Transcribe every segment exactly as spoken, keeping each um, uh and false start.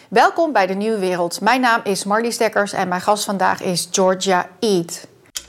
Welkom bij de Nieuwe Wereld. Mijn naam is Marlies Dekkers en mijn gast vandaag is Georgia Eid.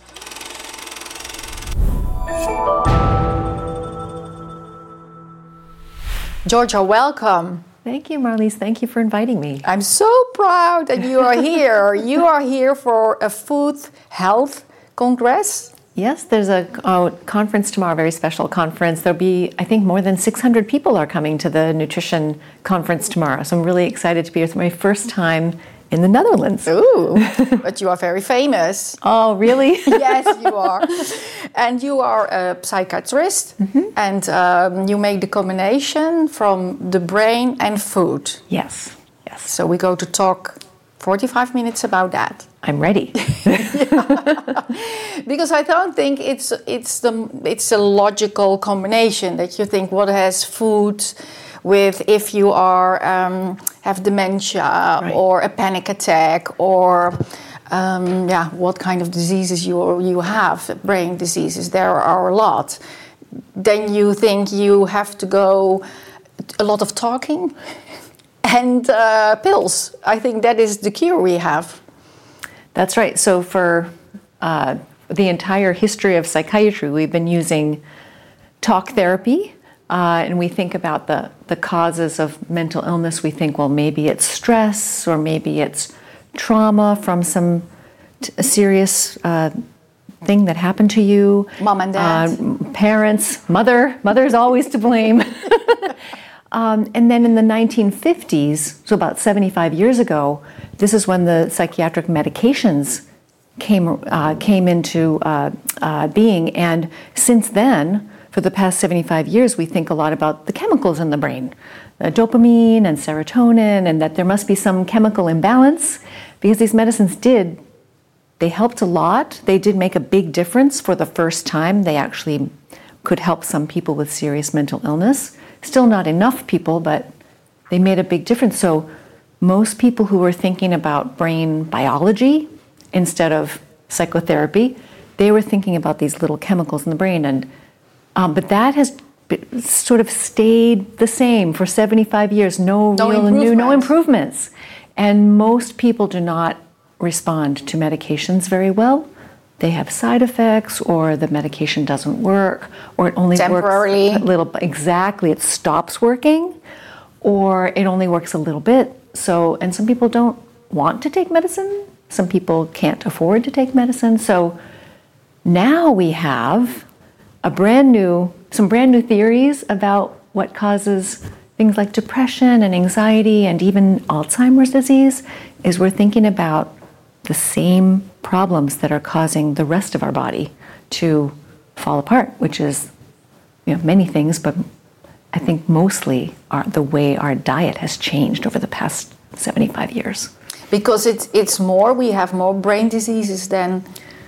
Georgia, welcome. Thank you, Marlies. Thank you for inviting me. I'm so proud that you are here. You are here for a food health congress. Yes, there's a oh, conference tomorrow, a very special conference. There'll be, I think, more than six hundred people are coming to the nutrition conference tomorrow. So I'm really excited to be here. It's my first time in the Netherlands. Ooh, but you are very famous. Oh, really? Yes, you are. And you are a psychiatrist, mm-hmm. and um, you make the combination from the brain and food. Yes, yes. So we go to talk forty-five minutes about that. I'm ready. Because I don't think it's it's the it's a logical combination that you think what has food with if you are um, have dementia, right, or a panic attack, or um, yeah, what kind of diseases you you have, brain diseases. There are a lot. Then you think you have to go a lot of talking and uh, pills. I think that is the cure we have. That's right. So for uh, the entire history of psychiatry, we've been using talk therapy. Uh, and we think about the, the causes of mental illness. We think, well, maybe it's stress, or maybe it's trauma from some t- a serious uh, thing that happened to you. Mom and dad. Uh, parents, mother. Mother's always to blame. um, and then in the nineteen fifties, so about seventy-five years ago, this is when the psychiatric medications came, uh, came into uh, uh, being. And since then, for the past seventy-five years, we think a lot about the chemicals in the brain, uh, dopamine and serotonin, and that there must be some chemical imbalance, because these medicines did, they helped a lot. They did make a big difference for the first time. They actually could help some people with serious mental illness. Still not enough people, but they made a big difference. So most people who were thinking about brain biology instead of psychotherapy, they were thinking about these little chemicals in the brain. And Um, but that has been, sort of stayed the same for seventy-five years. No, no real new, no improvements. And most people do not respond to medications very well. They have side effects, or the medication doesn't work, or it only temporarily works a little. Exactly, it stops working, or it only works a little bit. So, and some people don't want to take medicine. Some people can't afford to take medicine. So now we have a brand new, some brand new theories about what causes things like depression and anxiety and even Alzheimer's disease. Is we're thinking about the same problems that are causing the rest of our body to fall apart, which is, you know, many things, but I think mostly our, the way our diet has changed over the past seventy-five years. Because it's it's more, we have more brain diseases than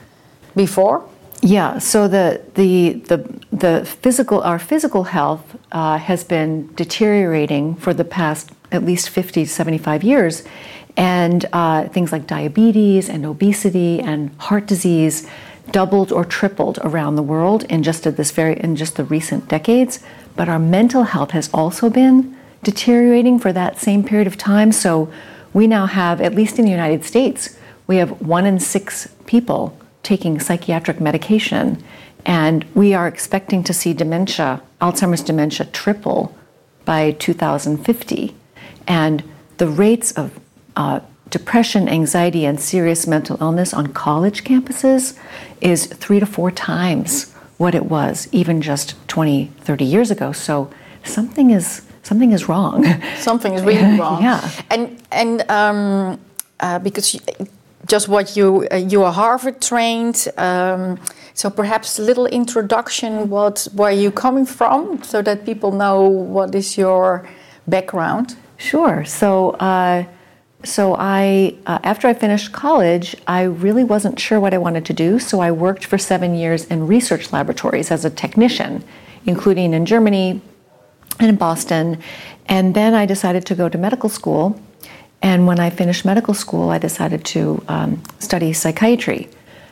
before. Yeah, so the the the the physical our physical health uh, has been deteriorating for the past at least fifty to seventy-five years, and uh, things like diabetes and obesity and heart disease doubled or tripled around the world in just at this very in just the recent decades. But our mental health has also been deteriorating for that same period of time. So we now have, at least in the United States, we have one in six people taking psychiatric medication, and we are expecting to see dementia, Alzheimer's dementia, triple by two thousand fifty. And the rates of uh, depression, anxiety, and serious mental illness on college campuses is three to four times what it was even just twenty, thirty years ago. So something is something is wrong. Something is really wrong. Yeah. And and um, uh, because. You, Just what you uh, you are Harvard trained, um, so perhaps a little introduction. What where you coming from, so that people know what is your background. Sure. So, uh, so I uh, after I finished college, I really wasn't sure what I wanted to do. So I worked for seven years in research laboratories as a technician, including in Germany and in Boston, and then I decided to go to medical school. And when I finished medical school, I decided to um, study psychiatry.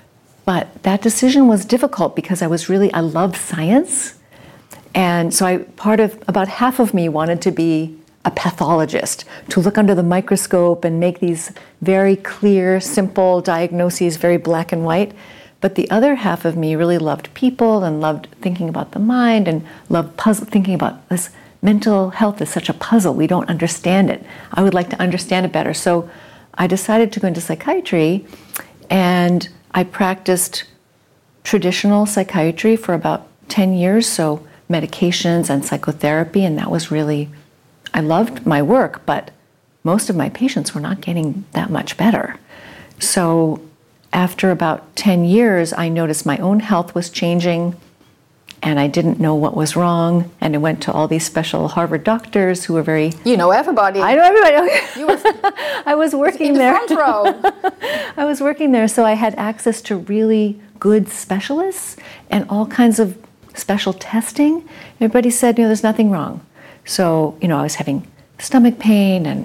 But that decision was difficult because I was really, I loved science. And so I, part of, about half of me wanted to be a pathologist, to look under the microscope and make these very clear, simple diagnoses, very black and white. But the other half of me really loved people and loved thinking about the mind and loved puzzle, thinking about this mental health is such a puzzle. We don't understand it. I would like to understand it better. So I decided to go into psychiatry, and I practiced traditional psychiatry for about ten years, so medications and psychotherapy, and that was really, I loved my work, but most of my patients were not getting that much better. So after about ten years, I noticed my own health was changing, and I didn't know what was wrong, and I went to all these special Harvard doctors who were very... You know everybody. I know everybody. You were I was working in the there. front row. I was working there, so I had access to really good specialists and all kinds of special testing. Everybody said, you know, there's nothing wrong. So, you know, I was having stomach pain and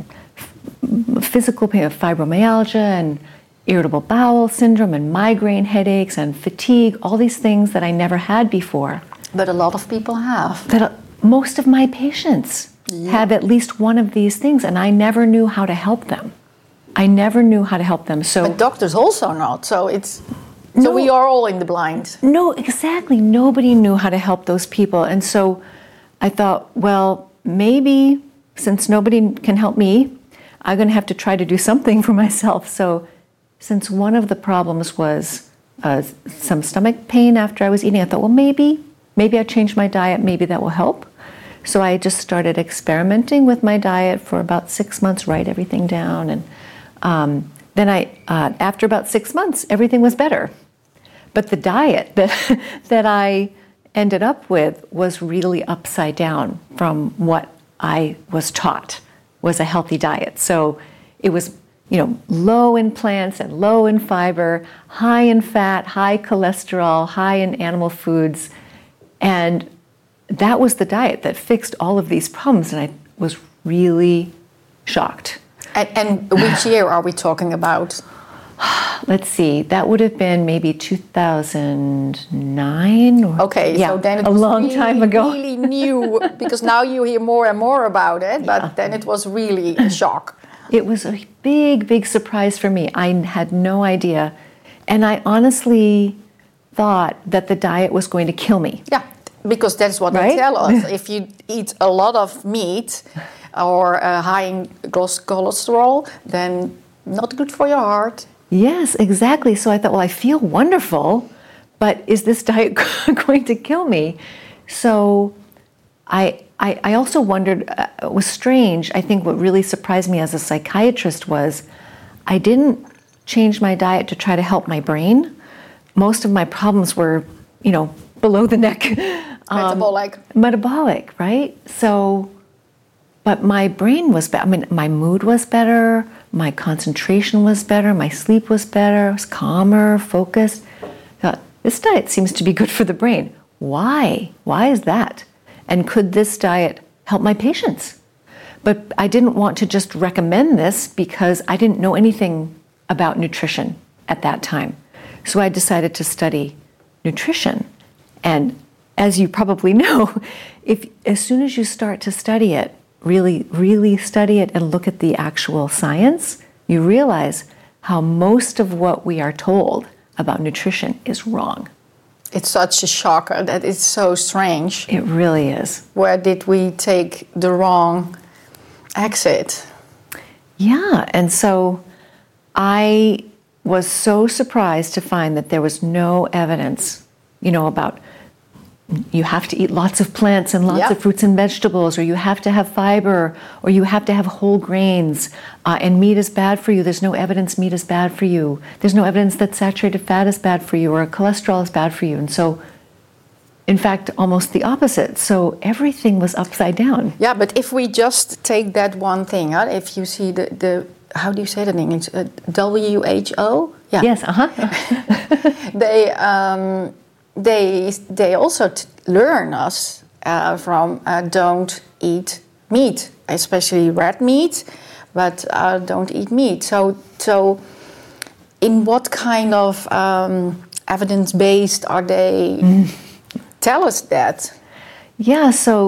physical pain, fibromyalgia and irritable bowel syndrome and migraine headaches and fatigue, all these things that I never had before. But a lot of people have. That most of my patients yeah. have at least one of these things, and I never knew how to help them. I never knew how to help them. So, but doctors also not. So it's so no, we are all in the blind. No, exactly. Nobody knew how to help those people, and so I thought, well, maybe since nobody can help me, I'm going to have to try to do something for myself. So, since one of the problems was uh, some stomach pain after I was eating, I thought, well, maybe, maybe I changed my diet. Maybe that will help. So I just started experimenting with my diet for about six months, write everything down, and um, then I, uh, after about six months, everything was better. But the diet that that I ended up with was really upside down from what I was taught was a healthy diet. So it was, you know, low in plants and low in fiber, high in fat, high cholesterol, high in animal foods. And that was the diet that fixed all of these problems. And I was really shocked. And, and which year are we talking about? Let's see, that would have been maybe two thousand nine. Or, okay, yeah, so then it a was long really, time ago. really new, because now you hear more and more about it, but yeah. then it was really a shock. It was a big, big surprise for me. I had no idea. And I honestly thought that the diet was going to kill me. Yeah, because that's what right? they tell us. If you eat a lot of meat or uh, high in cholesterol, then not good for your heart. Yes, exactly. So I thought, well, I feel wonderful, but is this diet going to kill me? So I, I, I also wondered, uh, it was strange. I think what really surprised me as a psychiatrist was I didn't change my diet to try to help my brain. Most of my problems were, you know, below the neck. Um, metabolic. Metabolic, right? So, but my brain was better. I mean, my mood was better. My concentration was better. My sleep was better. I was calmer, focused. I thought, this diet seems to be good for the brain. Why? Why is that? And could this diet help my patients? But I didn't want to just recommend this because I didn't know anything about nutrition at that time. So I decided to study nutrition. And as you probably know, if as soon as you start to study it, really, really study it and look at the actual science, you realize how most of what we are told about nutrition is wrong. It's such a shocker that it's so strange. It really is. Where did we take the wrong exit? Yeah, and so I was so surprised to find that there was no evidence, you know, about you have to eat lots of plants and lots yep. of fruits and vegetables, or you have to have fiber, or you have to have whole grains, uh, and meat is bad for you. There's no evidence meat is bad for you. There's no evidence that saturated fat is bad for you, or cholesterol is bad for you. And so, in fact, almost the opposite. So everything was upside down. Yeah, but if we just take that one thing, huh? If you see the, the how do you say that in English? Uh, W H O? Yeah. Yes, uh-huh. they... Um, They they also t- learn us uh, from uh, don't eat meat, especially red meat, but uh, don't eat meat. So so, in what kind of um, evidence based are they mm. tell us that? Yeah. So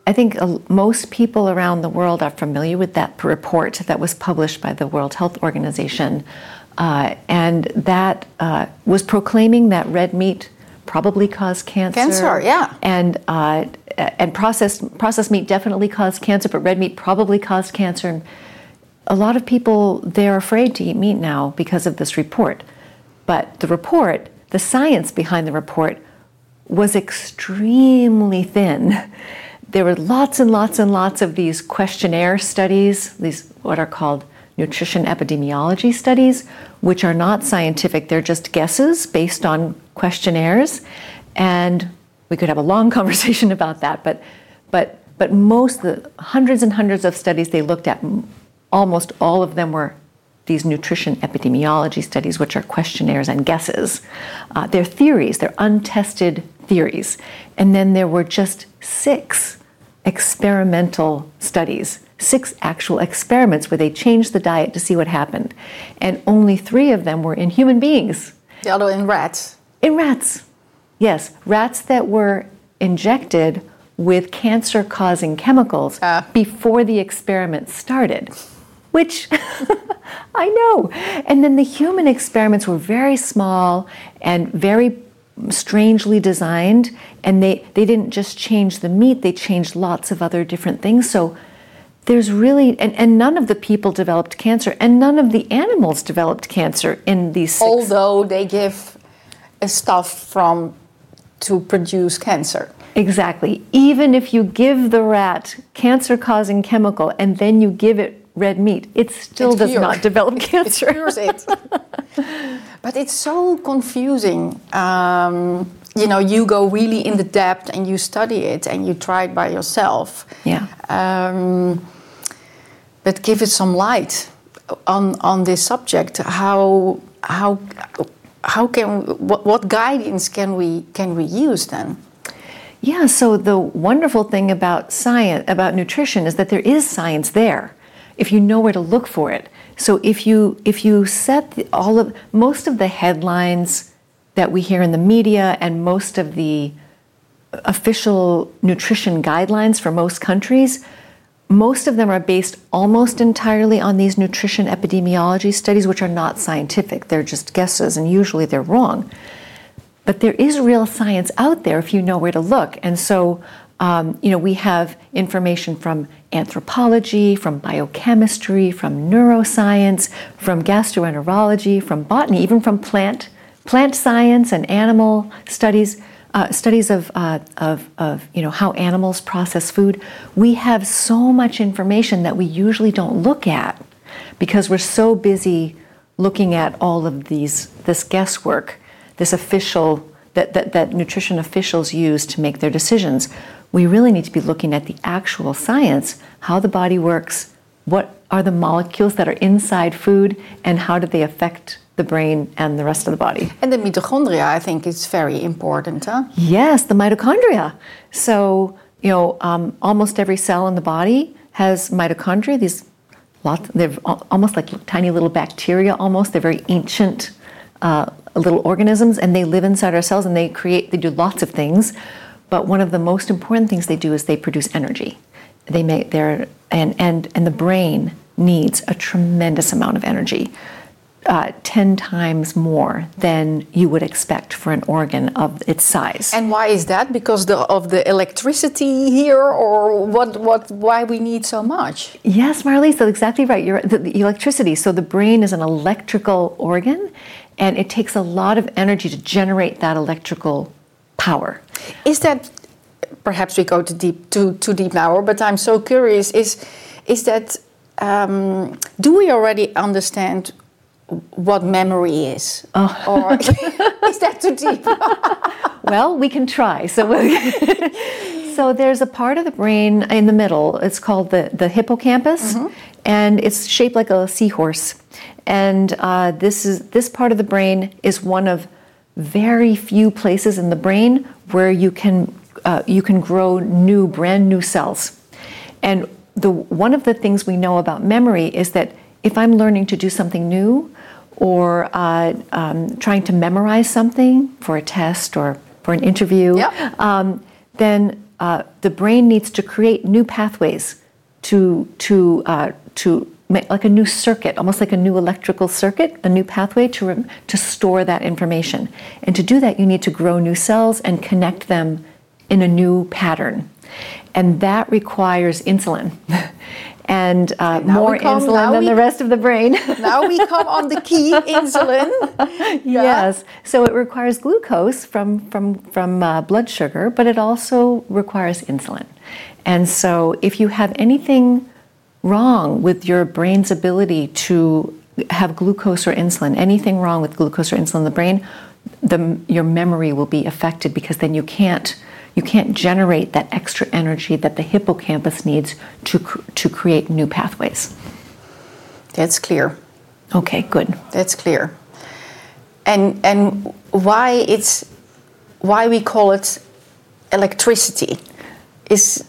I think uh, most people around the world are familiar with that report that was published by the World Health Organization. Uh, and that uh, was proclaiming that red meat probably caused cancer. Cancer, yeah. And uh, and processed processed meat definitely caused cancer, but red meat probably caused cancer. And a lot of people, they're afraid to eat meat now because of this report. But the report, the science behind the report, was extremely thin. There were lots and lots and lots of these questionnaire studies, these what are called nutrition epidemiology studies, which are not scientific. They're just guesses based on questionnaires. And we could have a long conversation about that, but but but most the hundreds and hundreds of studies they looked at, almost all of them were these nutrition epidemiology studies, which are questionnaires and guesses. Uh, they're theories, they're untested theories. And then there were just six experimental studies, six actual experiments where they changed the diet to see what happened. And only three of them were in human beings. The other in rats. In rats, yes. Rats that were injected with cancer-causing chemicals uh. before the experiment started, which I know. And then the human experiments were very small and very strangely designed, and they, they didn't just change the meat, they changed lots of other different things. So there's really, and, and none of the people developed cancer, and none of the animals developed cancer in these six. Although they give a stuff from to produce cancer. Exactly. Even if you give the rat cancer-causing chemical and then you give it red meat, it still it does cures. not develop cancer. It cures it. But it's so confusing. Um, you know, you go really in the depth and you study it and you try it by yourself. Yeah. Um, but give it some light on on this subject. How how how can what, what guidance can we can we use then? Yeah. So the wonderful thing about science, about nutrition, is that there is science there, if you know where to look for it. So if you if you set the, all of most of the headlines that we hear in the media and most of the official nutrition guidelines for most countries, most of them are based almost entirely on these nutrition epidemiology studies, which are not scientific. They're just guesses, and usually they're wrong. But there is real science out there if you know where to look. And so Um, you know, we have information from anthropology, from biochemistry, from neuroscience, from gastroenterology, from botany, even from plant plant science and animal studies, uh, studies of, uh, of, of, you know, how animals process food. We have so much information that we usually don't look at because we're so busy looking at all of these this guesswork, this official that, that, that nutrition officials use to make their decisions. We really need to be looking at the actual science, how the body works, what are the molecules that are inside food, and how do they affect the brain and the rest of the body. And the mitochondria, I think, is very important, huh? Yes, the mitochondria. So, you know, um, almost every cell in the body has mitochondria. These lots, they're almost like tiny little bacteria almost. They're very ancient uh, little organisms, and they live inside our cells, and they create, they do lots of things. But one of the most important things they do is they produce energy. They make their and and and the brain needs a tremendous amount of energy, uh, ten times more than you would expect for an organ of its size. And why is that? Because the, of the electricity here, or what? What? Why we need so much? Yes, Marlies, that's exactly right. You're the, the electricity. So the brain is an electrical organ, and it takes a lot of energy to generate that electrical power. Is that, perhaps we go too deep, too, too deep now, but I'm so curious, is is that, um, do we already understand what memory is? Oh. Or is that too deep? Well, we can try. So, so there's a part of the brain in the middle, it's called the, the hippocampus, mm-hmm. and it's shaped like a seahorse. And uh, this is this part of the brain is one of very few places in the brain where you can uh, you can grow new, brand new cells. And the one of the things we know about memory is that if I'm learning to do something new, or uh, um, trying to memorize something for a test or for an interview, yep. um, then uh, the brain needs to create new pathways to to uh, to make like a new circuit, almost like a new electrical circuit, a new pathway to rem- to store that information. And to do that, you need to grow new cells and connect them in a new pattern, and that requires insulin. And uh, more come, insulin than we, the rest of the brain. Now we come on the key, insulin. Yeah. Yes. So it requires glucose from, from, from uh, blood sugar, but it also requires insulin. And so if you have anything wrong with your brain's ability to have glucose or insulin, anything wrong with glucose or insulin in the brain, the, your memory will be affected, because then you can't You can't generate that extra energy that the hippocampus needs to to create new pathways. That's clear. Okay, good. That's clear. And and why it's why we call it electricity is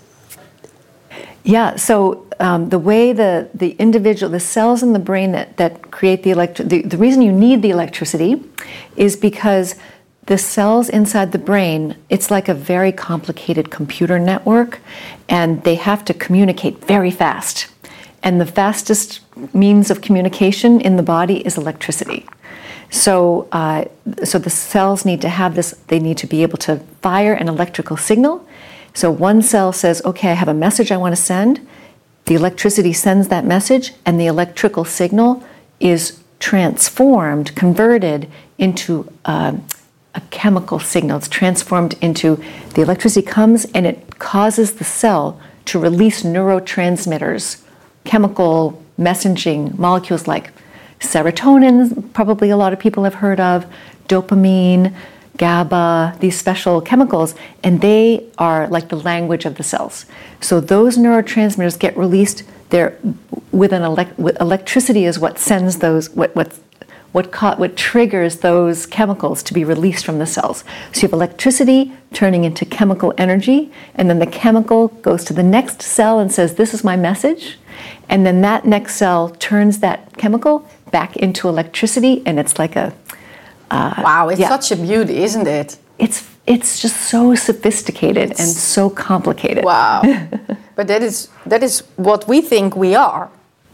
yeah. So um, the way the the individual the cells in the brain that that create the electri- the, the reason you need the electricity is because the cells inside the brain, it's like a very complicated computer network, and they have to communicate very fast. And the fastest means of communication in the body is electricity. So, uh, so the cells need to have this, they need to be able to fire an electrical signal. So one cell says, okay, I have a message I want to send. The electricity sends that message, and the electrical signal is transformed, converted into uh, a chemical signal. It's transformed into, the electricity comes and it causes the cell to release neurotransmitters, chemical messaging molecules like serotonin, probably a lot of people have heard of, dopamine, GABA, these special chemicals, and they are like the language of the cells. So those neurotransmitters get released there with an elect- with electricity is what sends those, what what What, ca- what triggers those chemicals to be released from the cells. So you have electricity turning into chemical energy, and then the chemical goes to the next cell and says, this is my message. And then that next cell turns that chemical back into electricity, and it's like a... Uh, wow, it's yeah. such a beauty, isn't it? It's it's just so sophisticated it's, and so complicated. Wow. But that is that is what we think we are.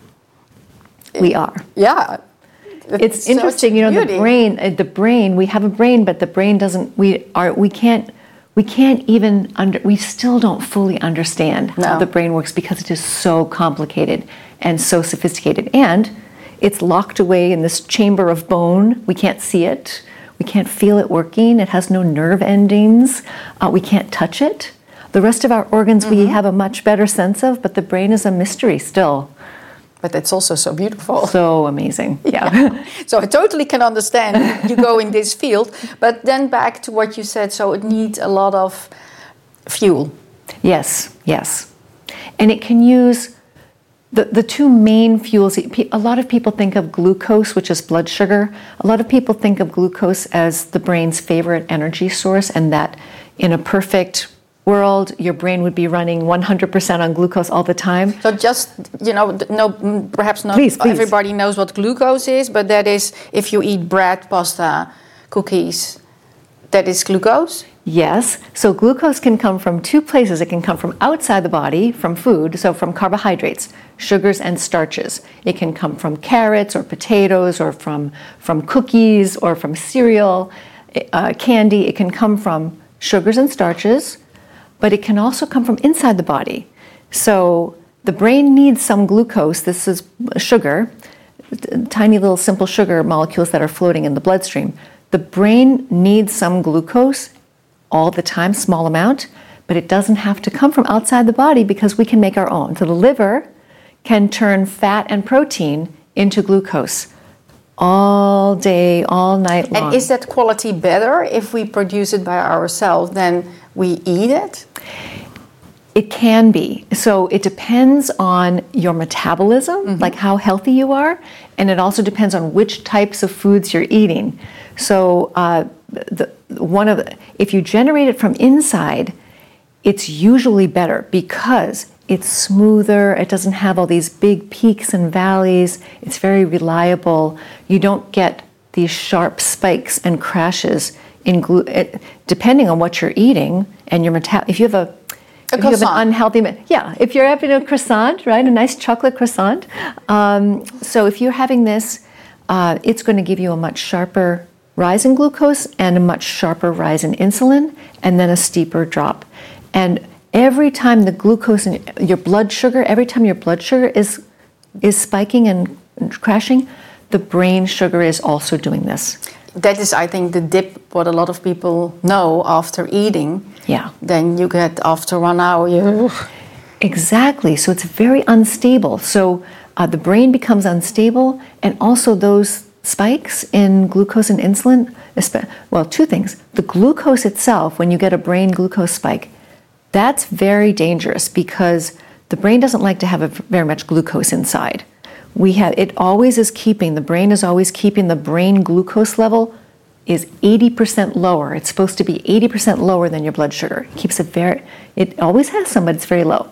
We are. Yeah. It's so interesting, you know, beauty. the brain. The brain. We have a brain, but the brain doesn't. We are. We can't. We can't even under. We still don't fully understand no. how the brain works, because it is so complicated and so sophisticated, and it's locked away in this chamber of bone. We can't see it. We can't feel it working. It has no nerve endings. Uh, we can't touch it. The rest of our organs mm-hmm. we have a much better sense of, but the brain is a mystery still. But it's also so beautiful. So amazing. Yeah. yeah. So I totally can understand you go in this field. But then back to what you said, so it needs a lot of fuel. Yes, yes. And it can use the, the two main fuels. A lot of people think of glucose, which is blood sugar. A lot of people think of glucose as the brain's favorite energy source, and that in a perfect world, your brain would be running one hundred percent on glucose all the time. So just, you know, no, perhaps not please, please. everybody knows what glucose is, but that is if you eat bread, pasta, cookies, that is glucose? Yes. So glucose can come from two places. It can come from outside the body, from food, so from carbohydrates, sugars and starches. It can come from carrots or potatoes or from, from cookies or from cereal, uh, candy. It can come from sugars and starches, but it can also come from inside the body. So the brain needs some glucose. This is sugar, tiny little simple sugar molecules that are floating in the bloodstream. The brain needs some glucose all the time, small amount, but it doesn't have to come from outside the body, because we can make our own. So the liver can turn fat and protein into glucose all day, all night long. And is that quality better if we produce it by ourselves than we eat it? It can be. So it depends on your metabolism, mm-hmm. like how healthy you are, and it also depends on which types of foods you're eating. So uh, the, one of the, if you generate it from inside, it's usually better because it's smoother, it doesn't have all these big peaks and valleys, it's very reliable. You don't get these sharp spikes and crashes in glu- it, depending on what you're eating and your meta- if you have a A if you have croissant. an unhealthy, yeah, if you're having a croissant, right, a nice chocolate croissant. Um, so if you're having this, uh, it's going to give you a much sharper rise in glucose and a much sharper rise in insulin, and then a steeper drop. And every time the glucose in your blood sugar, every time your blood sugar is is spiking and crashing, the brain sugar is also doing this. That is, I think, the dip, what a lot of people know after eating. Yeah. Then you get, after one hour, you... Exactly. So it's very unstable. So uh, the brain becomes unstable, and also those spikes in glucose and insulin, well, two things. The glucose itself, when you get a brain glucose spike, that's very dangerous because the brain doesn't like to have a, very much glucose inside. We have, it always is keeping, the brain is always keeping the brain glucose level is eighty percent lower. It's supposed to be eighty percent lower than your blood sugar. It keeps it very, it always has some, but it's very low.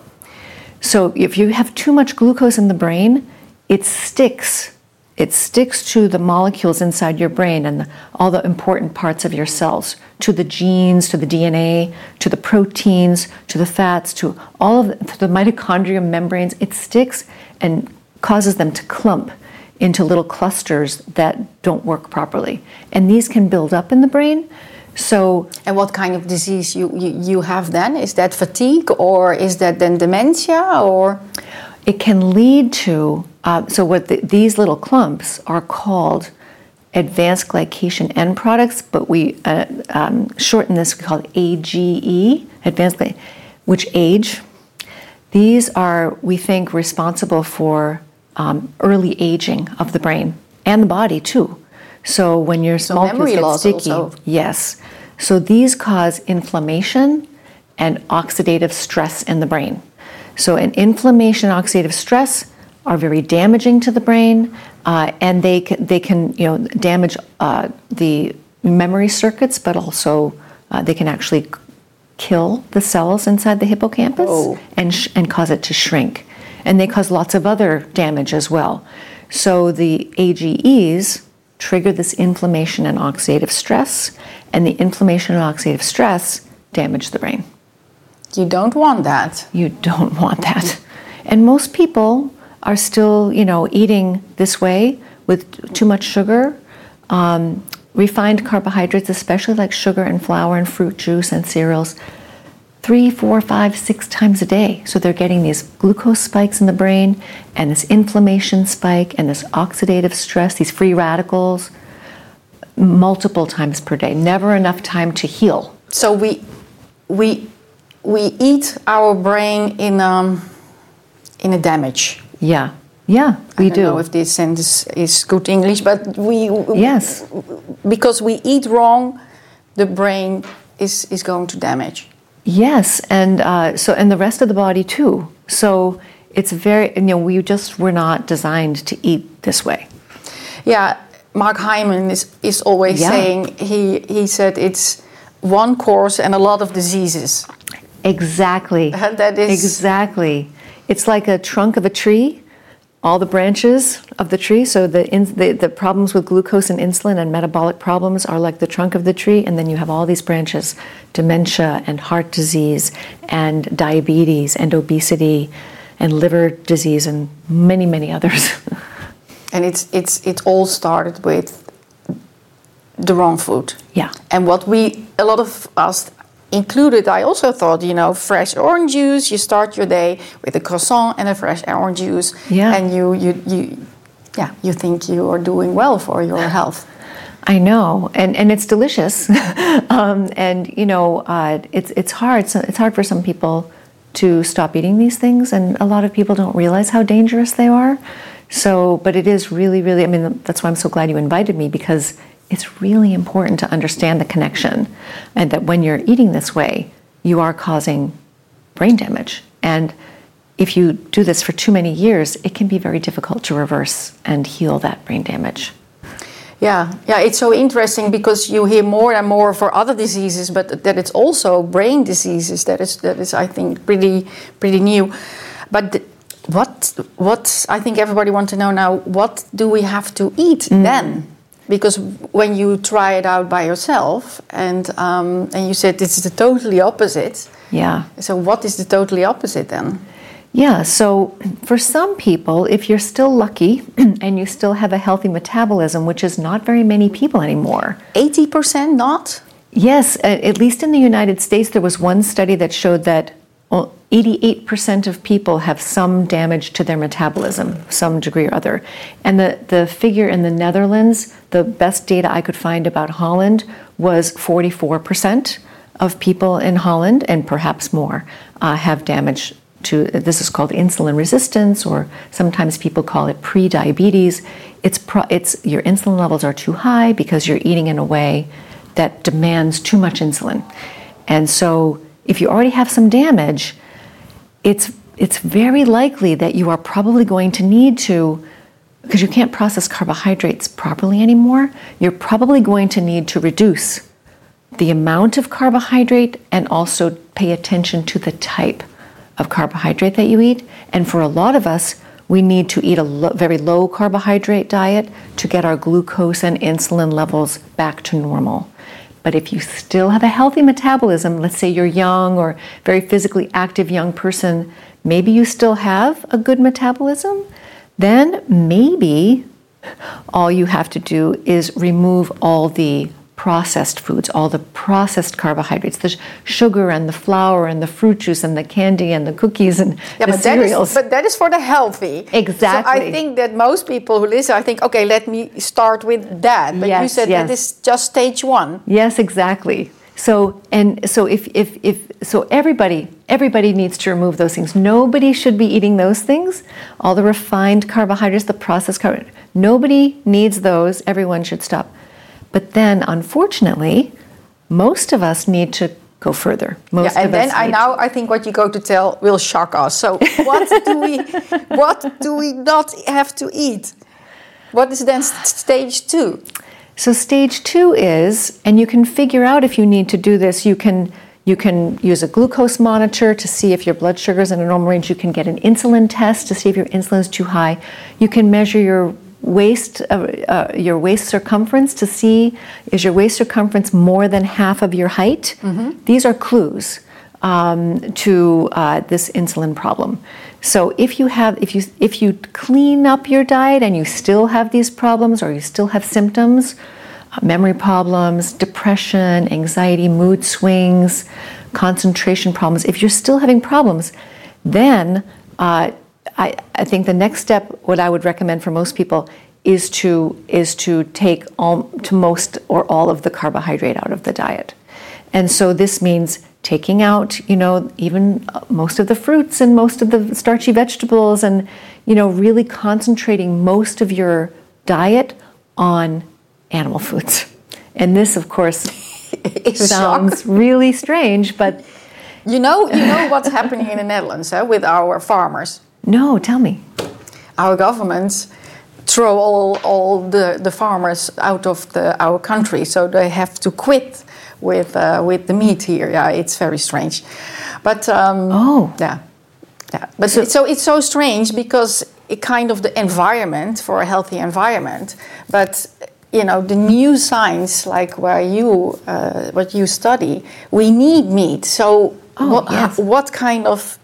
So if you have too much glucose in the brain, it sticks. It sticks to the molecules inside your brain and the, all the important parts of your cells, to the genes, to the D N A, to the proteins, to the fats, to all of the, to the mitochondrial membranes. It sticks and causes them to clump into little clusters that don't work properly. And these can build up in the brain. So, and what kind of disease you, you, you have then? Is that fatigue, or is that then dementia, or? It can lead to, uh, so what the, these little clumps are called advanced glycation end products, but we uh, um, shorten this, we call it A G E, advanced glycation, which age. These are, we think, responsible for um, early aging of the brain and the body too. So when your So molecules memory get loss sticky, also. yes. So these cause inflammation and oxidative stress in the brain. So an inflammation, oxidative stress are very damaging to the brain, uh, and they can, they can you know damage uh, the memory circuits, but also uh, they can actually kill the cells inside the hippocampus Oh. and sh- and cause it to shrink, and they cause lots of other damage as well. So the A G Es trigger this inflammation and oxidative stress, and the inflammation and oxidative stress damage the brain. You don't want that. You don't want that. And most people are still, you know, eating this way with too much sugar, um, refined carbohydrates, especially like sugar and flour and fruit juice and cereals, three, four, five, six times a day. So they're getting these glucose spikes in the brain and this inflammation spike and this oxidative stress, these free radicals, multiple times per day. Never enough time to heal. So we we we eat our brain in um in a damage. Yeah, yeah, we I don't do. know if this sentence is good English, but we Yes. because we eat wrong, the brain is is going to damage. Yes, and uh, so and the rest of the body too. So it's very, you know, we just were not designed to eat this way. Yeah, Mark Hyman is is always Yeah. saying he he said it's one course and a lot of diseases. Exactly. That is Exactly. It's like a trunk of a tree, all the branches of the tree. So the, in, the the problems with glucose and insulin and metabolic problems are like the trunk of the tree, and then you have all these branches: dementia and heart disease and diabetes and obesity and liver disease and many, many others. And it's it's it all started with the wrong food. Yeah. And what we a lot of us included, I also thought, you know, fresh orange juice. You start your day with a croissant and a fresh orange juice. Yeah. And you you you yeah, you think you are doing well for your health. I know, and and it's delicious, um, and you know, uh, it's it's hard. So it's hard for some people to stop eating these things, and a lot of people don't realize how dangerous they are. So, but it is really, really. I mean, that's why I'm so glad you invited me, because it's really important to understand the connection, and that when you're eating this way, you are causing brain damage. And if you do this for too many years, it can be very difficult to reverse and heal that brain damage. Yeah, yeah, it's so interesting because you hear more and more for other diseases, but that it's also brain diseases. That is, that is, I think, pretty, pretty new. But th- what, what I think everybody wants to know now: what do we have to eat mm. then? Because when you try it out by yourself, and um, and you said it's the totally opposite. Yeah. So what is the totally opposite then? Yeah, so for some people, if you're still lucky and you still have a healthy metabolism, which is not very many people anymore. eighty percent not? Yes, at least in the United States, there was one study that showed that eighty-eight percent of people have some damage to their metabolism, some degree or other. And the, the figure in the Netherlands, the best data I could find about Holland was forty-four percent of people in Holland, and perhaps more, uh, have damage to, this is called insulin resistance, or sometimes people call it pre-diabetes. It's, pro, it's your insulin levels are too high because you're eating in a way that demands too much insulin. And so if you already have some damage, it's it's very likely that you are probably going to need to, because you can't process carbohydrates properly anymore, you're probably going to need to reduce the amount of carbohydrate and also pay attention to the type of carbohydrate that you eat. And for a lot of us, we need to eat a lo- very low carbohydrate diet to get our glucose and insulin levels back to normal. But if you still have a healthy metabolism, let's say you're young or very physically active young person, maybe you still have a good metabolism, then maybe all you have to do is remove all the processed foods, all the processed carbohydrates, the sugar and the flour and the fruit juice and the candy and the cookies and yeah, the but cereals. That is, but that is for the healthy. Exactly. So I think that most people who listen, I think, okay, let me start with that. But yes, you said yes. that is just stage one. Yes, exactly. So and so if if if so everybody everybody needs to remove those things. Nobody should be eating those things. All the refined carbohydrates, the processed carbohydrates. Nobody needs those. Everyone should stop. But then, unfortunately, most of us need to go further. Most yeah, and of then us I need now to. I think what you go to tell will shock us. So what do we what do we not have to eat? What is then st- stage two? So stage two is, and you can figure out if you need to do this. You can you can use a glucose monitor to see if your blood sugar is in a normal range. You can get an insulin test to see if your insulin is too high. You can measure your waist uh, uh, your waist circumference to see, is your waist circumference more than half of your height? Mm-hmm. These are clues um, to uh, this insulin problem. So if you have if you if you clean up your diet and you still have these problems, or you still have symptoms, uh, memory problems, depression, anxiety, mood swings, concentration problems, if you're still having problems, then uh, I, I think the next step, what I would recommend for most people, is to is to take all, to most or all of the carbohydrate out of the diet. And so this means taking out, you know, even most of the fruits and most of the starchy vegetables, and, you know, really concentrating most of your diet on animal foods. And this, of course, sounds shock. really strange, but you know, you know what's happening in the Netherlands uh, with our farmers. No, tell me. Our governments throw all, all the, the farmers out of the, our country, so they have to quit with uh, with the meat here. Yeah, it's very strange. But um, oh, yeah, yeah. But so, so it's so strange because it kind of the environment for a healthy environment. But you know, the new science, like where you uh, what you study, we need meat. So oh, what, yes. what kind of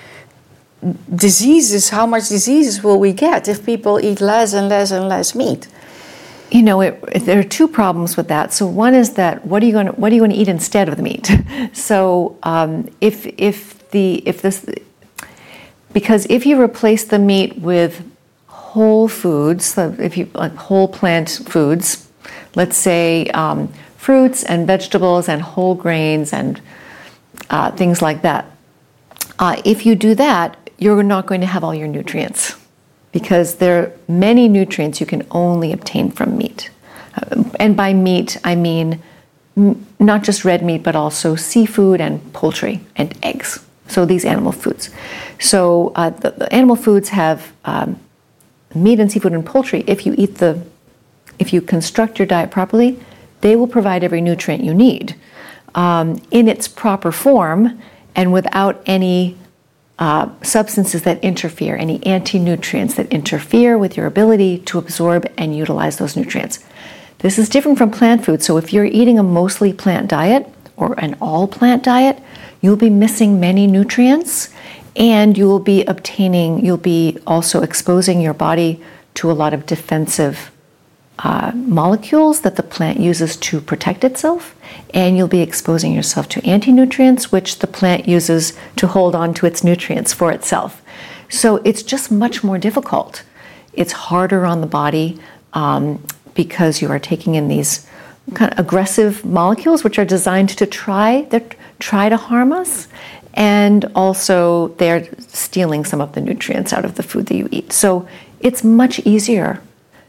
diseases, how much diseases will we get if people eat less and less and less meat? You know, it, there are two problems with that. So one is that what are you going to what are you going to eat instead of the meat? So um, if if the if this because if you replace the meat with whole foods, so if you like whole plant foods, let's say um, fruits and vegetables and whole grains and uh, things like that. Uh, if you do that, you're not going to have all your nutrients, because there are many nutrients you can only obtain from meat. Uh, and by meat, I mean m- not just red meat, but also seafood and poultry and eggs. So these animal foods. So uh, the, the animal foods have um, meat and seafood and poultry. If you eat the, if you construct your diet properly, they will provide every nutrient you need um, in its proper form and without any Uh, substances that interfere, any anti-nutrients that interfere with your ability to absorb and utilize those nutrients. This is different from plant food. So if you're eating a mostly plant diet or an all plant diet, you'll be missing many nutrients, and you'll be obtaining, you'll be also exposing your body to a lot of defensive uh, molecules that the plant uses to protect itself, and you'll be exposing yourself to anti-nutrients, which the plant uses to hold on to its nutrients for itself. So it's just much more difficult. It's harder on the body um, because you are taking in these kind of aggressive molecules, which are designed to try, try to harm us, and also they're stealing some of the nutrients out of the food that you eat. So it's much easier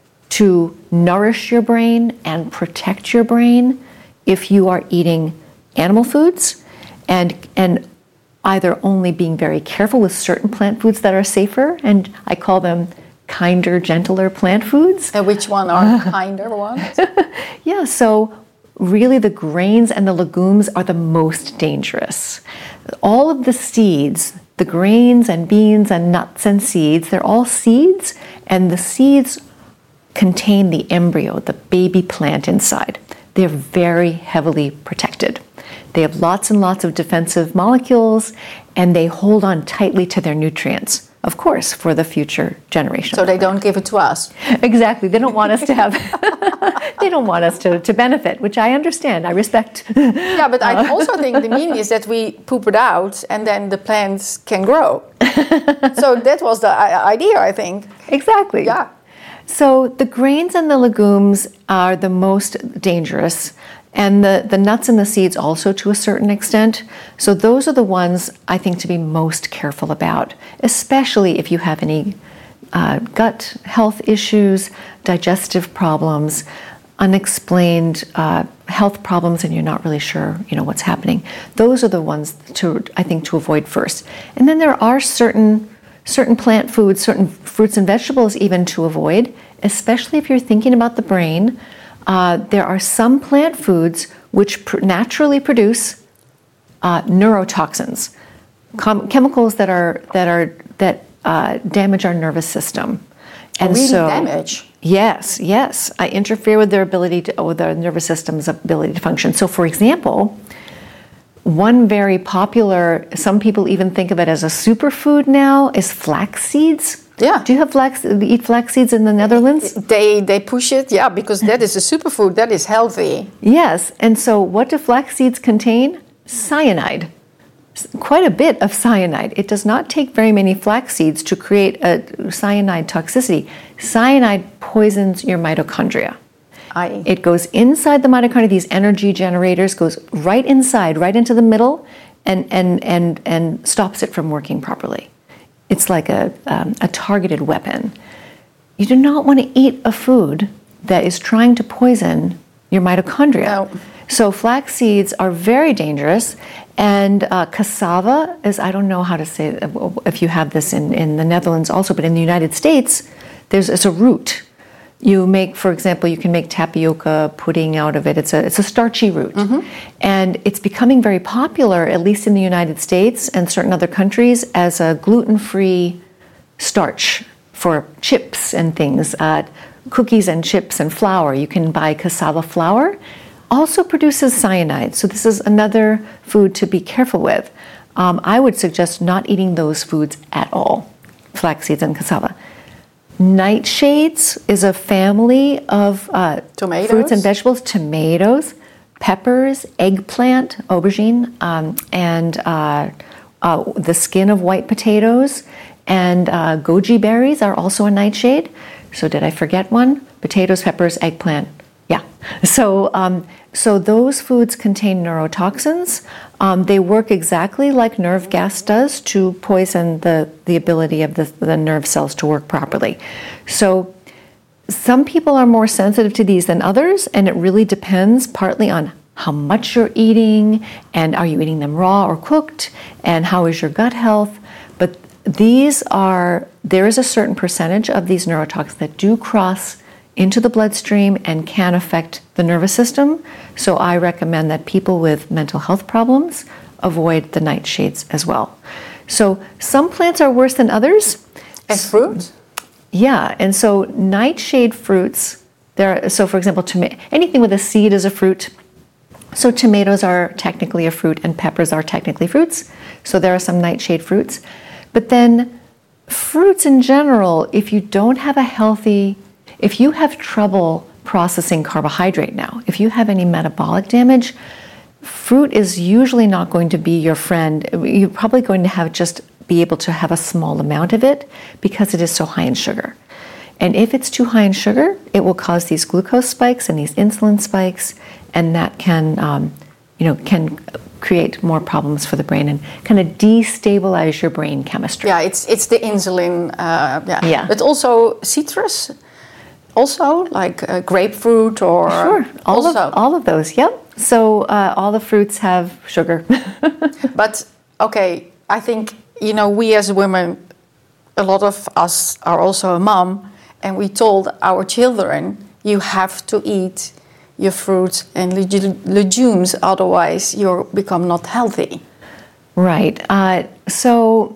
to nourish your brain and protect your brain if you are eating animal foods and and either only being very careful with certain plant foods that are safer, and I call them kinder, gentler plant foods. And which one are the kinder ones? Yeah, so really the grains and the legumes are the most dangerous. All of the seeds, the grains and beans and nuts and seeds, they're all seeds, and the seeds contain the embryo, the baby plant inside. They're very heavily protected. They have lots and lots of defensive molecules, and they hold on tightly to their nutrients, of course, for the future generation. So they don't give it to us. Exactly. They don't want us to have, they don't want us to, to benefit, which I understand. I respect. Yeah, but I also think the meaning is that we poop it out and then the plants can grow. So that was the idea, I think. Exactly. Yeah. So the grains and the legumes are the most dangerous, and the, the nuts and the seeds also to a certain extent. So those are the ones I think to be most careful about, especially if you have any uh, gut health issues, digestive problems, unexplained uh, health problems, and you're not really sure, you know, what's happening. Those are the ones to, I think, to avoid first. And then there are certain certain plant foods, certain fruits and vegetables even to avoid, especially if you're thinking about the brain. Uh, there are some plant foods which pr- naturally produce uh, neurotoxins, com- chemicals that are that are that uh, damage our nervous system. And really so, damage. Yes, yes, I interfere with their ability to, with their nervous system's ability to function. So, for example, one very popular, some people even think of it as a superfood now, is flax seeds. Yeah. Do you have flax, eat flax seeds in the Netherlands? They they push it, yeah, because that is a superfood, that is healthy. Yes, and so what do flax seeds contain? Cyanide. Quite a bit of cyanide. It does not take very many flax seeds to create a cyanide toxicity. Cyanide poisons your mitochondria. Aye. It goes inside the mitochondria, these energy generators, goes right inside, right into the middle, and and and, and stops it from working properly. It's like a, um, a targeted weapon. You do not want to eat a food that is trying to poison your mitochondria. No. So flax seeds are very dangerous, and uh, cassava is, I don't know how to say, if you have this in, in the Netherlands also, but in the United States, there's it's a root. You make, for example, you can make tapioca pudding out of it. It's a it's a starchy root. Mm-hmm. And it's becoming very popular, at least in the United States and certain other countries, as a gluten-free starch for chips and things, uh, cookies and chips and flour. You can buy cassava flour. Also produces cyanide. So this is another food to be careful with. Um, I would suggest not eating those foods at all, flax seeds and cassava. Nightshades is a family of uh, fruits and vegetables, tomatoes, peppers, eggplant, aubergine, um, and uh, uh, the skin of white potatoes, and uh, goji berries are also a nightshade. So did I forget one? Potatoes, peppers, eggplant. Yeah. So um, so those foods contain neurotoxins. Um, they work exactly like nerve gas does to poison the, the ability of the, the nerve cells to work properly. So some people are more sensitive to these than others, and it really depends partly on how much you're eating, and are you eating them raw or cooked, and how is your gut health. But these are, there is a certain percentage of these neurotoxins that do cross into the bloodstream and can affect the nervous system. So I recommend that people with mental health problems avoid the nightshades as well. So some plants are worse than others. And fruit? Yeah, and so nightshade fruits, there. So for example, toma- anything with a seed is a fruit. So tomatoes are technically a fruit and peppers are technically fruits. So there are some nightshade fruits. But then fruits in general, if you don't have a healthy, if you have trouble processing carbohydrate now, if you have any metabolic damage, fruit is usually not going to be your friend. You're probably going to have just be able to have a small amount of it because it is so high in sugar. And if it's too high in sugar, it will cause these glucose spikes and these insulin spikes, and that can, um, you know, can create more problems for the brain and kind of destabilize your brain chemistry. Yeah, it's it's the insulin. Uh, yeah. yeah, but also citrus, also like uh, grapefruit or sure, all also. of all of those. Yep. So uh, all the fruits have sugar. But okay, I think you know we as women, a lot of us are also a mom. And we told our children, you have to eat your fruits and leg- legumes, otherwise you become not healthy. Right. Uh, so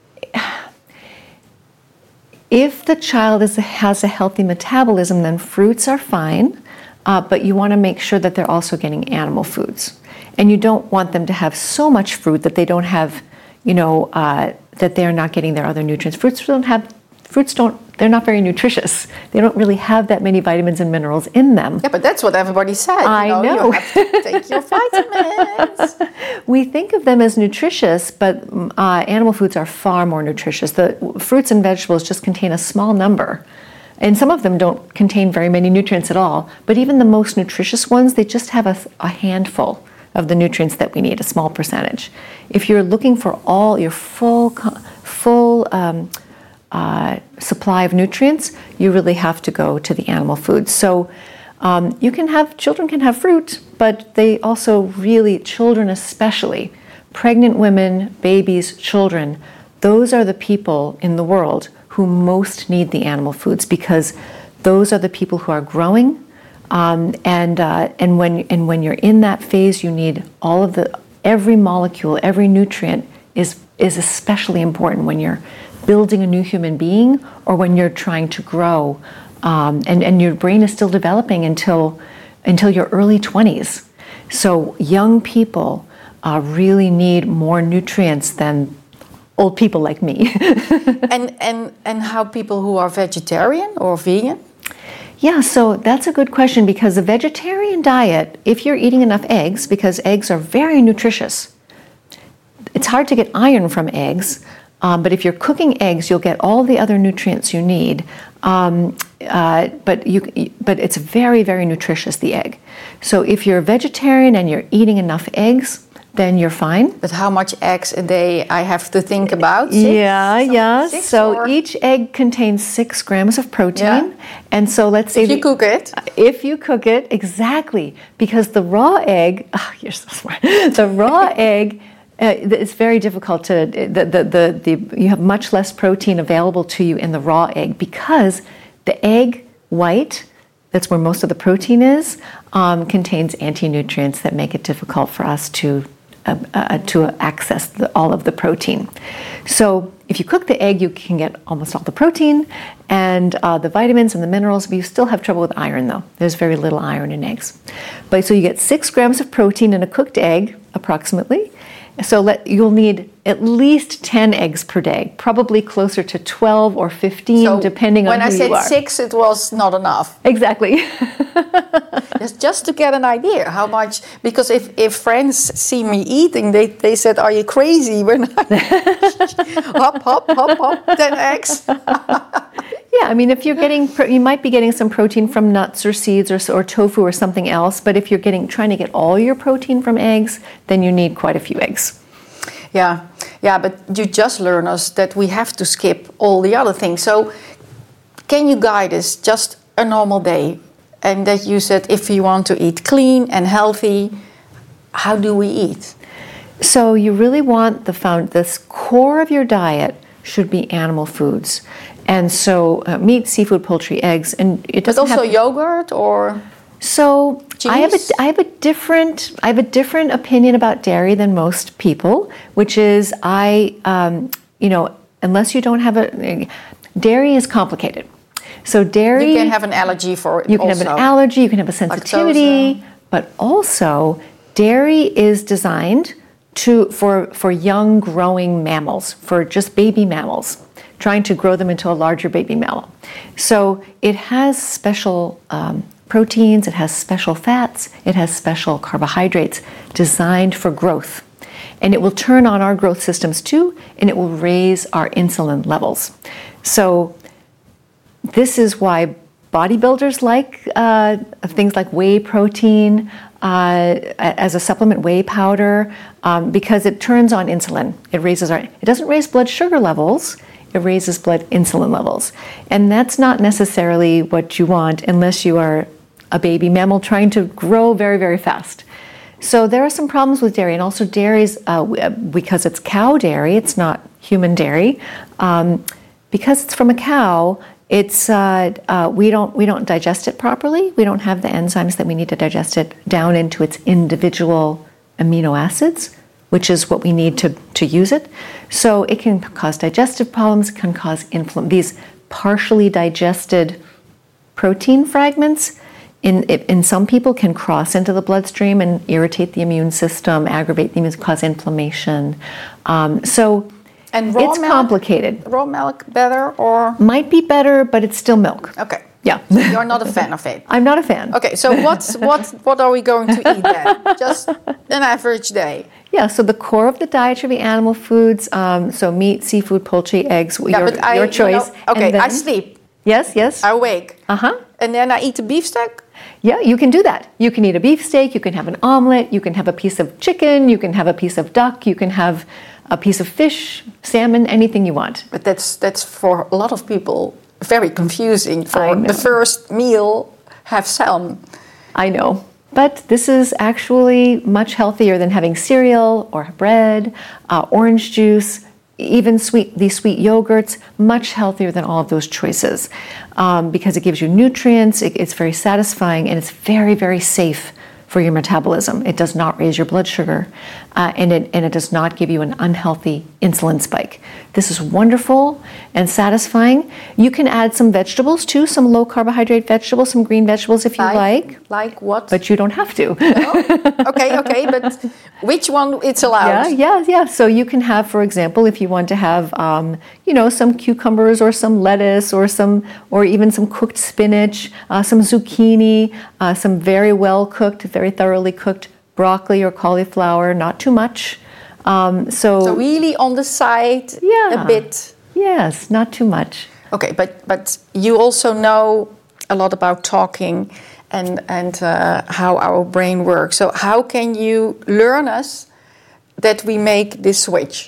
if the child is, has a healthy metabolism, then fruits are fine, uh, but you want to make sure that they're also getting animal foods. And you don't want them to have so much fruit that they don't have, you know, uh, that they're not getting their other nutrients. Fruits don't have Fruits don't, they're not very nutritious. They don't really have that many vitamins and minerals in them. Yeah, but that's what everybody said. I you know. know. You have to take your vitamins. We think of them as nutritious, but uh, animal foods are far more nutritious. The fruits and vegetables just contain a small number. And some of them don't contain very many nutrients at all. But even the most nutritious ones, they just have a, a handful of the nutrients that we need, a small percentage. If you're looking for all your full, full, um, Uh, supply of nutrients, you really have to go to the animal foods. So um, you can have, children can have fruit, but they also really, children especially, pregnant women, babies, children, those are the people in the world who most need the animal foods because those are the people who are growing. Um, and uh, and when and when you're in that phase, you need all of the, every molecule, every nutrient is is especially important when you're building a new human being or when you're trying to grow um, and, and your brain is still developing until until your early twenties. So young people uh, really need more nutrients than old people like me. and, and, and how people who are vegetarian or vegan? Yeah, so that's a good question because a vegetarian diet, if you're eating enough eggs, because eggs are very nutritious, it's hard to get iron from eggs. Um, but if you're cooking eggs, you'll get all the other nutrients you need. Um, uh, but you, but it's very, very nutritious, the egg. So if you're a vegetarian and you're eating enough eggs, then you're fine. But how much eggs a day I have to think about? Six? Yeah, so yeah. Six so or? Each egg contains six grams of protein. Yeah. And so let's say if you the, cook it. If you cook it, exactly. Because the raw egg, oh, you're so smart. The raw egg, Uh, it's very difficult to, the, the, the, the, you have much less protein available to you in the raw egg because the egg white, that's where most of the protein is, um, contains anti-nutrients that make it difficult for us to, uh, uh, to access the, all of the protein. So if you cook the egg, you can get almost all the protein and uh, the vitamins and the minerals, but you still have trouble with iron though. There's very little iron in eggs. But so you get six grams of protein in a cooked egg, approximately. So let, you'll need at least ten eggs per day, probably closer to twelve or fifteen, so depending on who you are. When I said six, it was not enough. Exactly. just, just to get an idea how much, because if, if friends see me eating, they, they said, are you crazy? When I hop, hop, hop, hop, ten eggs. Yeah, I mean, if you're getting, you might be getting some protein from nuts or seeds or, or tofu or something else, but if you're getting, trying to get all your protein from eggs, then you need quite a few eggs. Yeah, yeah, but you just learned us that we have to skip all the other things. So can you guide us just a normal day? And that you said if you want to eat clean and healthy, how do we eat? So you really want the found, this core of your diet should be animal foods. And so uh, meat, seafood, poultry, eggs, and it doesn't but also have, yogurt or so cheese? I have a I have a different I have a different opinion about dairy than most people, which is I um, you know unless you don't have a dairy is complicated. So dairy you can have an allergy for it. You can also. have an allergy. You can have a sensitivity, lactose. But also Dairy is designed to for, for young growing mammals, for just baby mammals, trying to grow them into a larger baby mammal. So it has special um, proteins, it has special fats, it has special carbohydrates designed for growth. And it will turn on our growth systems too, and it will raise our insulin levels. So this is why bodybuilders like uh, things like whey protein uh, as a supplement, whey powder, um, because it turns on insulin. It raises our, it doesn't raise blood sugar levels, it raises blood insulin levels. And that's not necessarily what you want unless you are a baby mammal trying to grow very, very fast. So there are some problems with dairy, and also dairies, uh, because it's cow dairy, it's not human dairy. Um, because it's from a cow, it's uh, uh, we don't we don't digest it properly. We don't have the enzymes that we need to digest it down into its individual amino acids, which is what we need to to use it. So it can cause digestive problems, it can cause inflammation. These partially digested protein fragments in in some people can cross into the bloodstream and irritate the immune system, aggravate the immune, cause inflammation. Um, so and raw it's milk, complicated. Raw milk better or? Might be better, but it's still milk. Okay. Yeah. You're not a fan of it. I'm not a fan. Okay, so what's what what are we going to eat then? Just an average day. Yeah, so the core of the diet should be animal foods, um, so meat, seafood, poultry, eggs, Yeah, your, but I, your you choice. know, okay, And then- I sleep. Yes, yes. I wake. Uh-huh. And then I eat a beefsteak. Yeah, you can do that. You can eat a beefsteak, you can have an omelet, you can have a piece of chicken, you can have a piece of duck, you can have a piece of fish, salmon, anything you want. But that's that's for a lot of people very confusing. I For know. the first meal, have salmon. I know. But this is actually much healthier than having cereal or bread, uh, orange juice, even sweet these sweet yogurts, much healthier than all of those choices um, because it gives you nutrients, it, it's very satisfying, and it's very, very safe for your metabolism. It does not raise your blood sugar, uh, and, it, and it does not give you an unhealthy insulin spike. This is wonderful and satisfying. You can add some vegetables too, some low carbohydrate vegetables, some green vegetables if you like. Like, like what? But you don't have to. Oh, okay, okay, but which one it's allowed? Yeah, yeah, yeah. So you can have, for example, if you want to have, um, you know, some cucumbers or some lettuce or some, or even some cooked spinach, uh, some zucchini, uh, some very well cooked, very thoroughly cooked broccoli or cauliflower, not too much. Um, so, So really on the side, Yeah. a bit. yes, not too much. Okay, but but you also know a lot about talking and and uh, how our brain works. So how can you learn us that we make this switch?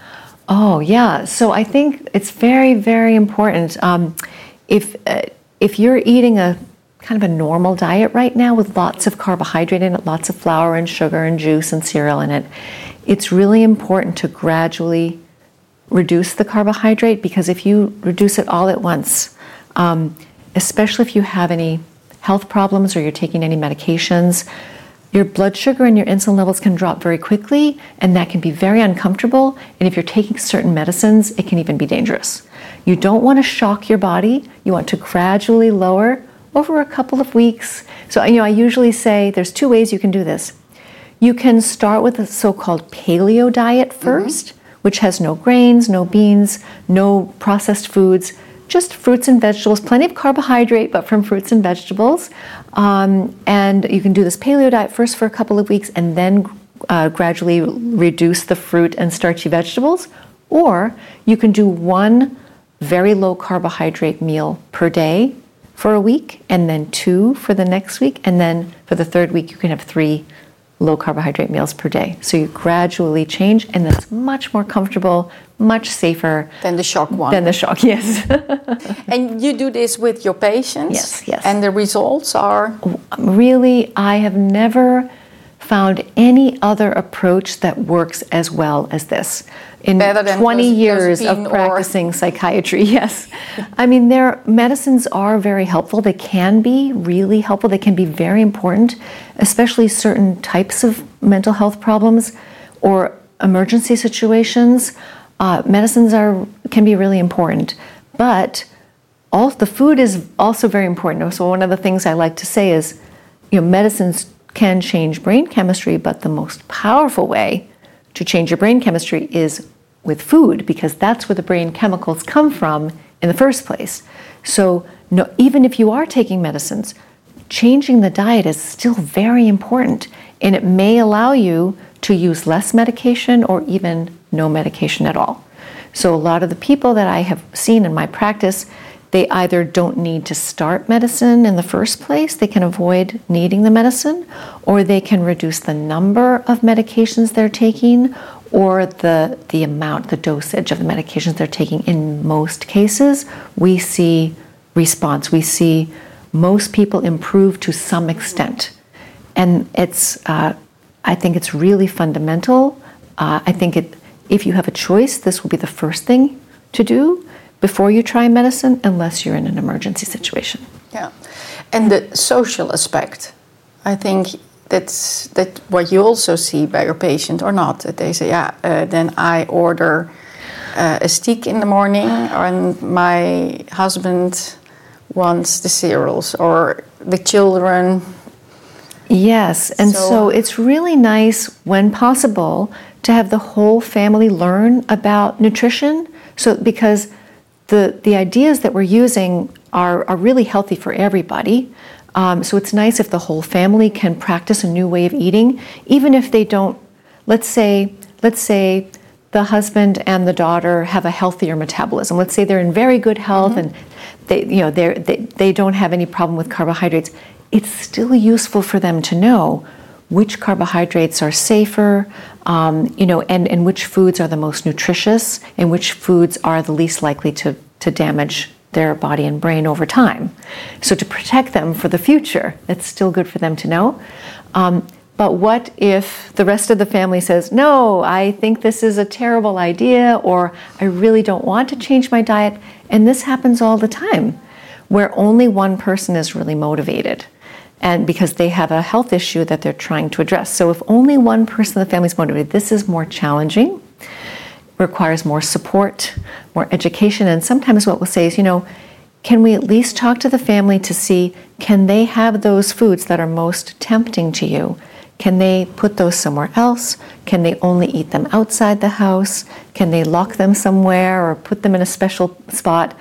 Oh, yeah. So I think it's very, very important. Um, if uh, if you're eating a kind of a normal diet right now with lots of carbohydrate in it, lots of flour and sugar and juice and cereal in it, it's really important to gradually reduce the carbohydrate, because if you reduce it all at once, um, especially if you have any health problems or you're taking any medications, your blood sugar and your insulin levels can drop very quickly, and that can be very uncomfortable. And if you're taking certain medicines, it can even be dangerous. You don't want to shock your body. You want to gradually lower over a couple of weeks. So, you know, I usually say there's two ways you can do this. You can start with a so-called paleo diet first, mm-hmm. which has no grains, no beans, no processed foods, just fruits and vegetables, plenty of carbohydrate, but from fruits and vegetables. Um, and you can do this paleo diet first for a couple of weeks and then uh, gradually reduce the fruit and starchy vegetables. Or you can do one very low carbohydrate meal per day for a week, and then two for the next week. And then for the third week, you can have three low carbohydrate meals per day. So you gradually change, and that's much more comfortable, much safer Than the shock one. than the shock, yes. And you do this with your patients? Yes, yes. And the results are? Really, I have never found any other approach that works as well as this. In Better than twenty years Josephine of or- practicing psychiatry, yes. I mean, their medicines are very helpful. They can be really helpful. They can be very important, especially certain types of mental health problems or emergency situations. Uh, medicines are can be really important, but all the food is also very important. So one of the things I like to say is, you know, medicines can change brain chemistry, but the most powerful way to change your brain chemistry is with food, because that's where the brain chemicals come from in the first place. So no, even if you are taking medicines, changing the diet is still very important, and it may allow you to use less medication or even no medication at all. So a lot of the people that I have seen in my practice, they either don't need to start medicine in the first place, they can avoid needing the medicine, or they can reduce the number of medications they're taking, or the, the amount, the dosage of the medications they're taking. In most cases, we see response. We see most people improve to some extent. And it's, uh, I think it's really fundamental. Uh, I think it, if you have a choice, this will be the first thing to do before you try medicine, unless you're in an emergency situation. Yeah, and the social aspect, I think that's that what you also see by your patient or not. That they say, yeah, uh, then I order uh, a steak in the morning, and my husband wants the cereals, or the children. Yes, and so, so it's really nice when possible to have the whole family learn about nutrition. So because the the ideas that we're using are, are really healthy for everybody. Um, so it's nice if the whole family can practice a new way of eating, even if they don't. Let's say let's say the husband and the daughter have a healthier metabolism. Let's say they're in very good health, mm-hmm. and they you know they they they don't have any problem with carbohydrates. It's still useful for them to know which carbohydrates are safer, um, you know, and, and which foods are the most nutritious, and which foods are the least likely to, to damage their body and brain over time. So to protect them for the future, it's still good for them to know. Um, but what if the rest of the family says, no, I think this is a terrible idea, or I really don't want to change my diet? And this happens all the time, where only one person is really motivated, and because they have a health issue that they're trying to address. So if only one person in the family is motivated, this is more challenging, requires more support, more education. And sometimes what we'll say is, you know, can we at least talk to the family to see, can they have those foods that are most tempting to you? Can they put those somewhere else? Can they only eat them outside the house? Can they lock them somewhere or put them in a special spot?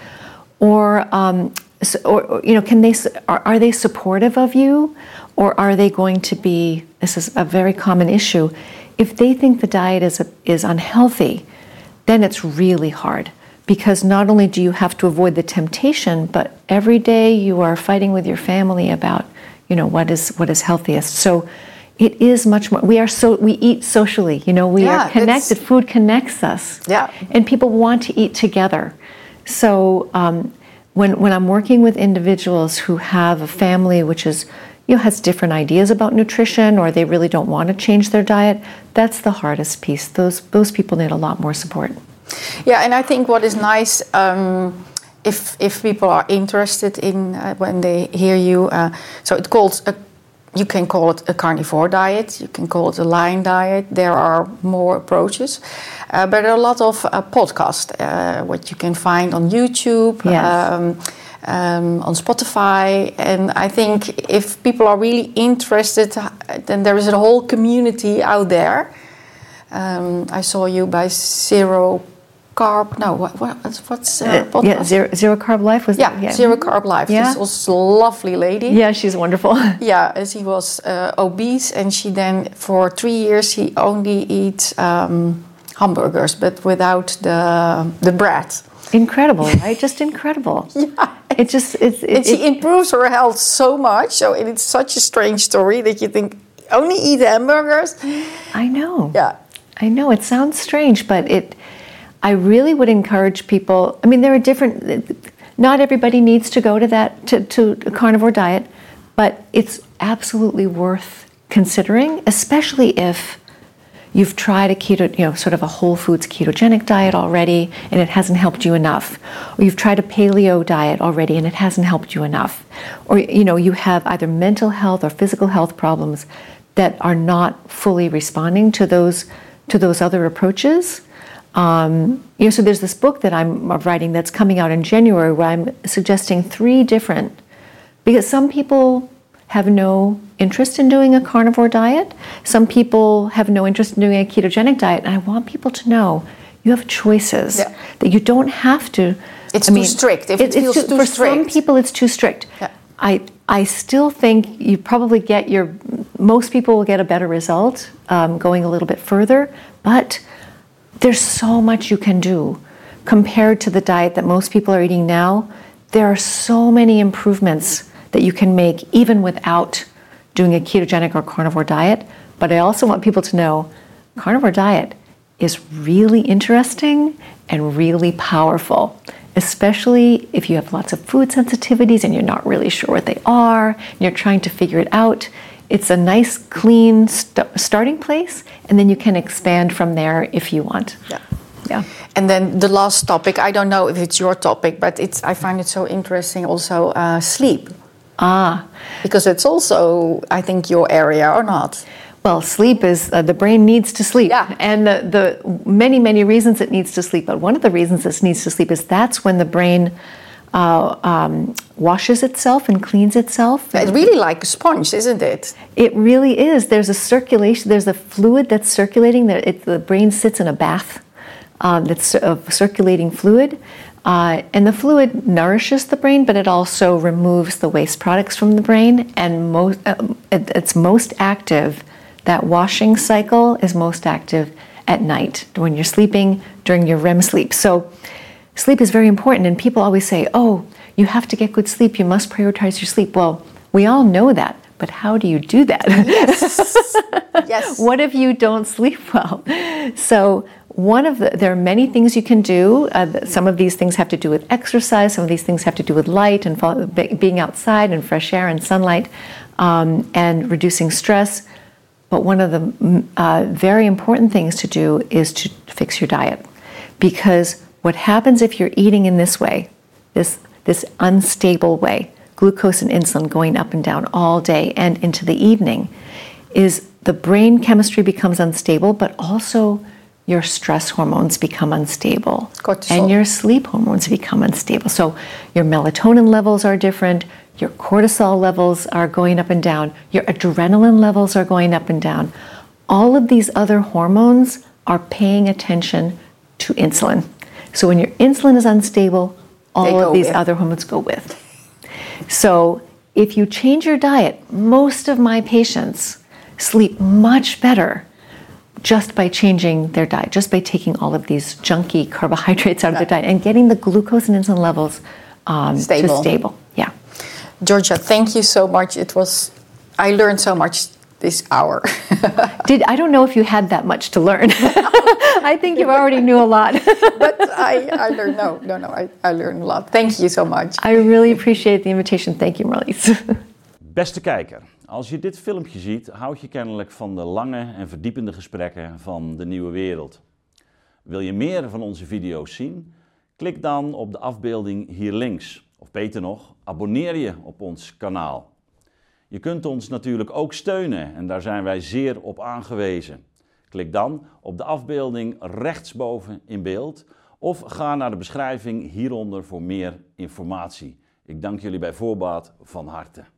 Or, um, So, or, or, you know, can they are, are they supportive of you, or are they going to be? This is a very common issue. If they think the diet is is unhealthy, then it's really hard, because not only do you have to avoid the temptation, but every day you are fighting with your family about, you know, what is what is healthiest. So it is much more. We are so we eat socially. You know, we yeah, are connected. Food connects us. Yeah, and people want to eat together. So. Um, When, when I'm working with individuals who have a family which is, you know, has different ideas about nutrition, or they really don't want to change their diet, that's the hardest piece. Those those people need a lot more support. Yeah, and I think what is nice, um, if if people are interested in uh, when they hear you, uh, so it calls a, you can call it a carnivore diet, you can call it a line diet. There are more approaches. Uh, but there are a lot of uh, podcasts, uh, what you can find on YouTube, yes. um, um, on Spotify. And I think if people are really interested, then there is a whole community out there. Um, I saw you by Zero Carb. No, what, what, what's uh, podcast? Yeah, Zero, Zero Carb Life was yeah, that? Yeah, Zero Carb Life. Yeah. This was a lovely lady. Yeah, she's wonderful. Yeah, she was uh, obese, and she then for three years she only eats um, hamburgers, but without the the bread. Incredible, right? Just incredible. Yeah. It just it's it, and she it, improves her health so much. So it's such a strange story that you think only eat hamburgers. I know. Yeah, I know. It sounds strange, but it. I really would encourage people. I mean, there are different. Not everybody needs to go to that to, to a carnivore diet, but it's absolutely worth considering, especially if you've tried a keto, you know, sort of a whole foods ketogenic diet already, and it hasn't helped you enough. Or you've tried a paleo diet already, and it hasn't helped you enough. Or, you know, you have either mental health or physical health problems that are not fully responding to those to those other approaches. Um, you know, so there's this book that I'm writing that's coming out in January, where I'm suggesting three different, because some people have no interest in doing a carnivore diet. Some people have no interest in doing a ketogenic diet. And I want people to know you have choices, yeah. that you don't have to. It's I too mean, strict. If it, it feels too, too for strict. some people, it's too strict. Yeah. I I still think you probably get your. Most people will get a better result um, going a little bit further, but there's so much you can do compared to the diet that most people are eating now. There are so many improvements that you can make even without doing a ketogenic or carnivore diet. But I also want people to know carnivore diet is really interesting and really powerful, especially if you have lots of food sensitivities and you're not really sure what they are, and you're trying to figure it out. It's a nice, clean st- starting place, and then you can expand from there if you want. Yeah. Yeah. And then the last topic, I don't know if it's your topic, but it's I find it so interesting also, uh, sleep. Ah. Because it's also, I think, your area or not. Well, sleep is, uh, the brain needs to sleep. Yeah. And the, the many, many reasons it needs to sleep. But one of the reasons it needs to sleep is that's when the brain uh, um, washes itself and cleans itself. It's really like a sponge, isn't it? It really is. There's a circulation, there's a fluid that's circulating. That it, the brain sits in a bath um, that's of circulating fluid. Uh, and the fluid nourishes the brain, but it also removes the waste products from the brain. And most, uh, it, it's most active. That washing cycle is most active at night when you're sleeping during your R E M sleep. So sleep is very important, and people always say, oh, you have to get good sleep, you must prioritize your sleep. Well, we all know that, but how do you do that? Yes. Yes. What if you don't sleep well? So one of the, there are many things you can do. Uh, some of these things have to do with exercise, some of these things have to do with light and fall, being outside and fresh air and sunlight, um, and reducing stress. But one of the uh, very important things to do is to fix your diet. Because what happens if you're eating in this way, this, this unstable way, glucose and insulin going up and down all day and into the evening, is the brain chemistry becomes unstable, but also your stress hormones become unstable. Cortisol. And your sleep hormones become unstable. So your melatonin levels are different, your cortisol levels are going up and down, your adrenaline levels are going up and down. All of these other hormones are paying attention to insulin. So when your insulin is unstable, all of these with. other hormones go with. So if you change your diet, most of my patients sleep much better just by changing their diet, just by taking all of these junky carbohydrates out of their diet and getting the glucose and insulin levels um, stable. to stable. Yeah. Georgia, thank you so much. It was, I learned so much this hour. Did I don't know if you had that much to learn. I think you already knew a lot. But I, I learned, no, no, no, I, I learned a lot. Thank you so much. I really appreciate the invitation. Thank you, Marlies. Beste kijker, als je dit filmpje ziet, houd je kennelijk van de lange en verdiepende gesprekken van de nieuwe wereld. Wil je meer van onze video's zien? Klik dan op de afbeelding hier links. Of beter nog, abonneer je op ons kanaal. Je kunt ons natuurlijk ook steunen en daar zijn wij zeer op aangewezen. Klik dan op de afbeelding rechtsboven in beeld of ga naar de beschrijving hieronder voor meer informatie. Ik dank jullie bij voorbaat van harte.